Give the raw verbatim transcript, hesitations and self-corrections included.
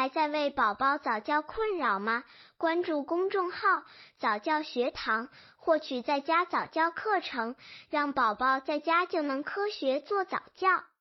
还在为宝宝早教困扰吗？关注公众号早教学堂，获取在家早教课程，让宝宝在家就能科学做早教。